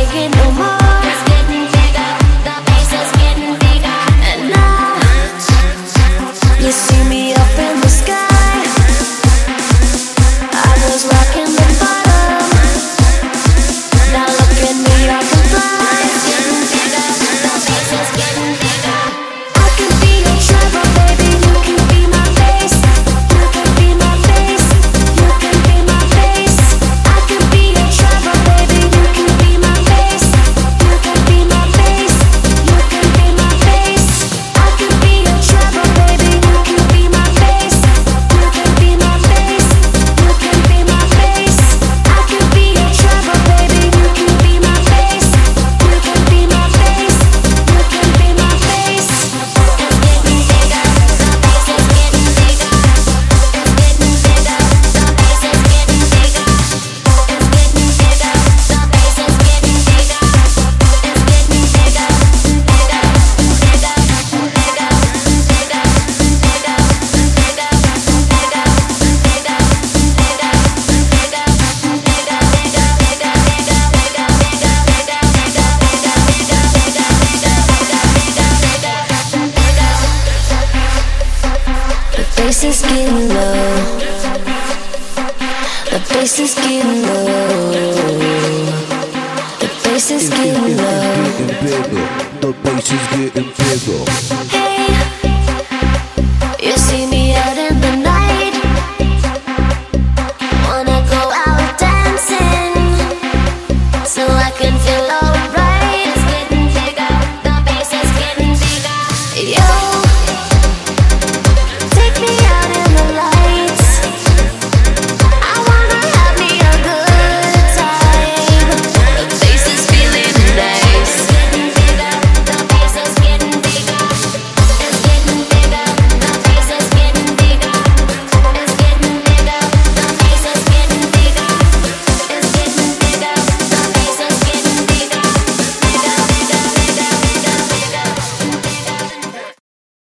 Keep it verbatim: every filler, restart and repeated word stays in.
like it no more. It's getting bigger, the bass is getting bigger. And now you see me up in the sky. I was rocking the bottom. Now look at me, I can fly. It's getting bigger, the bass is getting bigger. I can be your travel, baby. You can be my bass. You can be my bass. You can be my bass. I can be your travel, baby. You can be my bass. You can be my bass. You can be my bass. I can be your travel, baby. You can be my bass. You can be my bass. You can be my bass. I can be your travel, baby. You can be my bass. You can be my bass. You can be my bass. It's getting bigger, the bass is getting bigger. It's getting bigger, the bass is getting bigger. It's getting bigger, the bass is getting bigger. It's getting bigger, bigger, bigger, bigger, bigger, bigger, bigger, bigger, bigger, the bass is getting low. The bass is getting low. The bass is getting low. Getting bigger. The bass is getting bigger.